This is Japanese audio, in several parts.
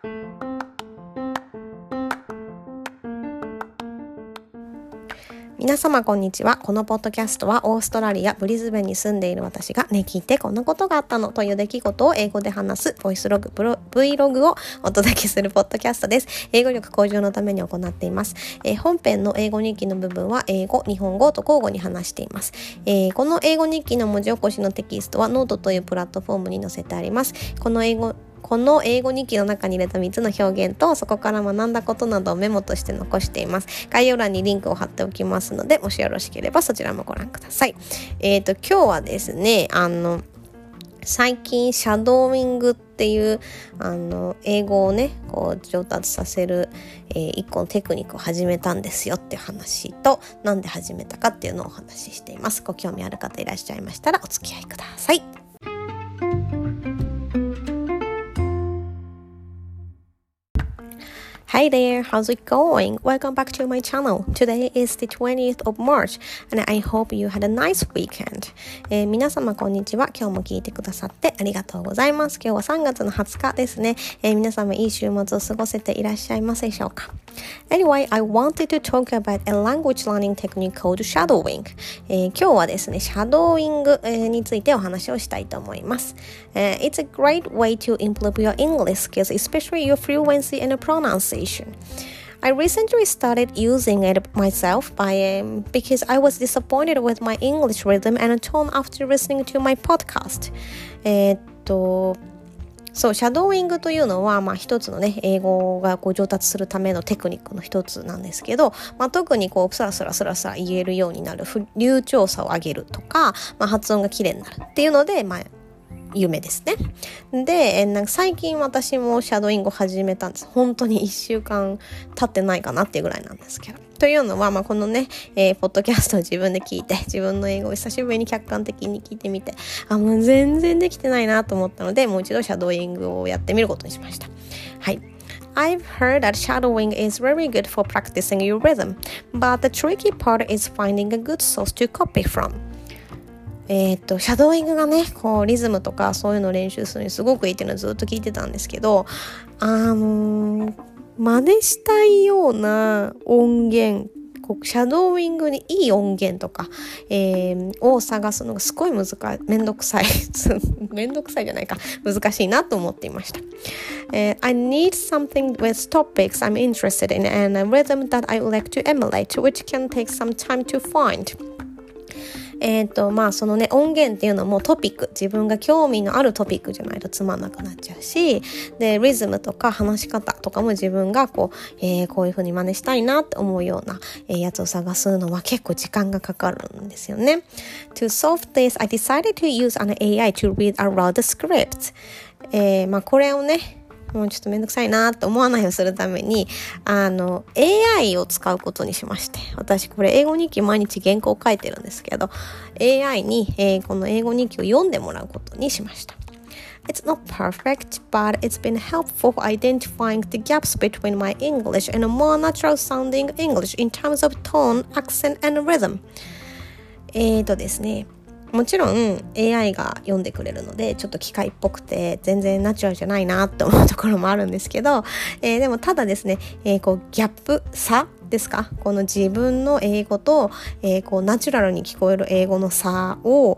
皆様こんにちは。このポッドキャストはオーストラリアブリズベンに住んでいる私が聞いてこんなことがあったのという出来事を英語で話すボイスログ、Vlog をお届けするポッドキャストです。英語力向上のために行っています。本編の英語日記の部分は英語、日本語と交互に話しています。この英語日記の文字起こしのテキストはノートというプラットフォームに載せてあります。この英語日記の中に入れた3つの表現とそこから学んだことなどをメモとして残しています。概要欄にリンクを貼っておきますので、もしよろしければそちらもご覧ください。今日はですね、最近シャドーイングっていう英語をね上達させる、一個のテクニックを始めたんですよっていう話と、なんで始めたかっていうのをお話ししています。ご興味ある方いらっしゃいましたらお付き合いください。Hi there, how's it going? Welcome back to my channel. Today is the 20th of March and I hope you had a nice weekend. 皆様こんにちは。今日も聞いてくださってありがとうございます。今日は3月の20日ですね。皆様いい週末を過ごせていらっしゃいますでしょうか。Anyway, I wanted to talk about a language learning technique called shadowing. 今日はですね、シャドーイングについてお話をしたいと思います。It's a great way to improve your English skills, especially your fluency and pronunciation.I recently started using it myself because I was disappointed with my English rhythm and tone after listening to my podcast. そう、シャドーイングというのは、一つのね、英語が上達するためのテクニックの一つなんですけど、特にスラスラ言えるようになる、流暢さを上げるとか、発音が綺麗になるっていうので、夢ですね。で、最近私もシャドーイングを始めたんです。本当に1週間経ってないかなっていうぐらいなんですけど。というのは、このね、ポッドキャストを自分で聞いて、自分の英語を久しぶりに客観的に聞いてみて、もう全然できてないなと思ったので、もう一度シャドーイングをやってみることにしました。はい。I've heard that shadowing is very good for practicing your rhythm, but the tricky part is finding a good source to copy from.シャドーイングがねリズムとかそういうのを練習するのにすごくいいっていうのをずっと聞いてたんですけど、真似したいような音源、シャドーイングにいい音源とか、を探すのがすごいめんどくさいじゃないか、難しいなと思っていました。I need something with topics I'm interested in and a rhythm that I would like to emulate, which can take some time to find.そのね、音源っていうのもトピック、自分が興味のあるトピックじゃないとつまんなくなっちゃうし、で、リズムとか話し方とかも自分がこういう風に真似したいなって思うような、やつを探すのは結構時間がかかるんですよね。To solve this, I decided to use an AI to read aloud the script. これをね、もうちょっとめんどくさいなと思わないようにするためにAI を使うことにしまして、私これ英語日記毎日原稿を書いてるんですけど AI に、この英語日記を読んでもらうことにしました。It's not perfect, but it's been helpful for identifying the gaps between my English and a more natural sounding English in terms of tone, accent and rhythm. ですね、もちろん AI が読んでくれるのでちょっと機械っぽくて全然ナチュラルじゃないなって思うところもあるんですけど、でもただですね、ギャップ差ですか、この自分の英語と、ナチュラルに聞こえる英語の差を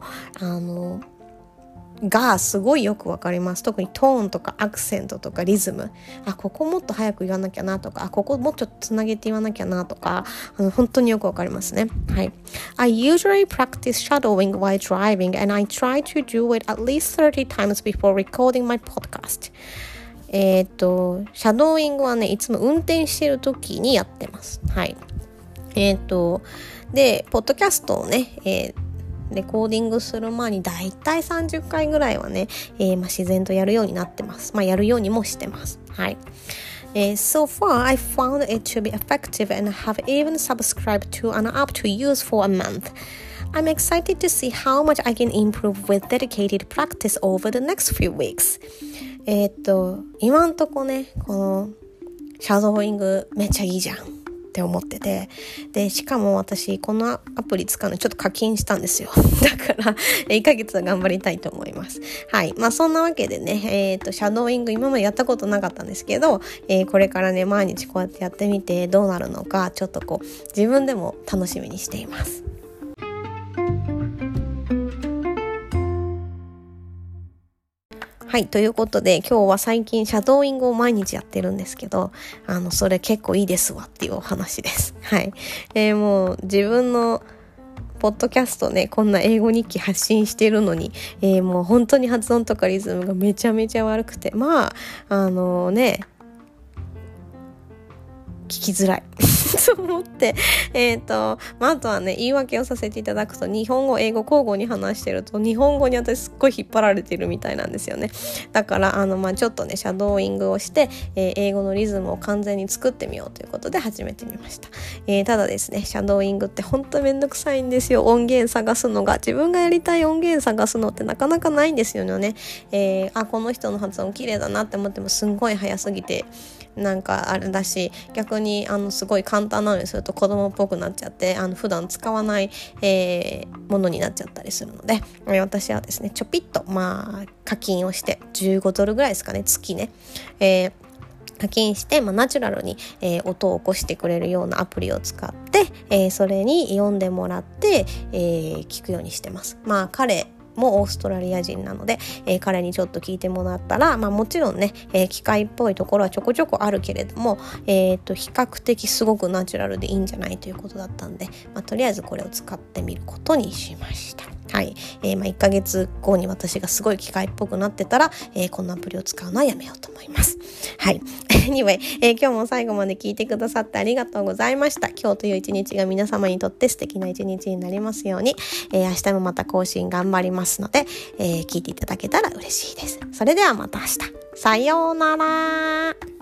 がすごいよくわかります。特にトーンとかアクセントとかリズム、ここもっと早く言わなきゃなとか、ここもうちょっとつなげて言わなきゃなとか、本当によくわかりますね。はい。I usually practice shadowing while driving and I try to do it at least 30 times before recording my podcast. シャドーイングはね、いつも運転している時にやってます。はい。で、ポッドキャストをね、レコーディングする前にだいたい30回ぐらいはね、自然とやるようになってます。やるようにもしてます。はい。So far, I found it to be effective and have even subscribed to an app to use for a month. I'm excited to see how much I can improve with dedicated practice over the next few weeks. 今んとこね、このシャドーイングめっちゃいいじゃんっって思ってて、でしかも私このアプリ使うのちょっと課金したんですよ。だから1ヶ月は頑張りたいと思います。はい、そんなわけでね、シャドーイング今までやったことなかったんですけど、これからね毎日こうやってやってみてどうなるのかちょっとこう自分でも楽しみにしています。はい、ということで今日は最近シャドーイングを毎日やってるんですけど、それ結構いいですわっていうお話です。はい、もう自分のポッドキャストねこんな英語日記発信してるのに、もう本当に発音とかリズムがめちゃめちゃ悪くて、聞きづらいと思ってあとはね言い訳をさせていただくと、日本語英語交互に話してると日本語に私すっごい引っ張られてるみたいなんですよね。だからちょっとねシャドーイングをして、英語のリズムを完全に作ってみようということで始めてみました。ただですねシャドーイングって本当めんどくさいんですよ。音源探すのが、自分がやりたい音源探すのってなかなかないんですよね。この人の発音綺麗だなって思ってもすんごい早すぎてなんかあれだし、逆にすごい簡単なのにすると子供っぽくなっちゃって普段使わない、ものになっちゃったりするので、私はですねちょぴっと課金をして15ドルぐらいですかね、月ね、課金して、ナチュラルに、音を起こしてくれるようなアプリを使って、それに読んでもらって、聞くようにしてます。彼もオーストラリア人なので、彼にちょっと聞いてもらったら、もちろんね、機械っぽいところはちょこちょこあるけれども、比較的すごくナチュラルでいいんじゃないということだったんで、とりあえずこれを使ってみることにしました。はい、1ヶ月後に私がすごい機械っぽくなってたら、このアプリを使うのはやめようと思います。はい。Anyway、今日も最後まで聞いてくださってありがとうございました。今日という一日が皆様にとって素敵な一日になりますように、明日もまた更新頑張りますので、聞いていただけたら嬉しいです。それではまた明日。さようなら。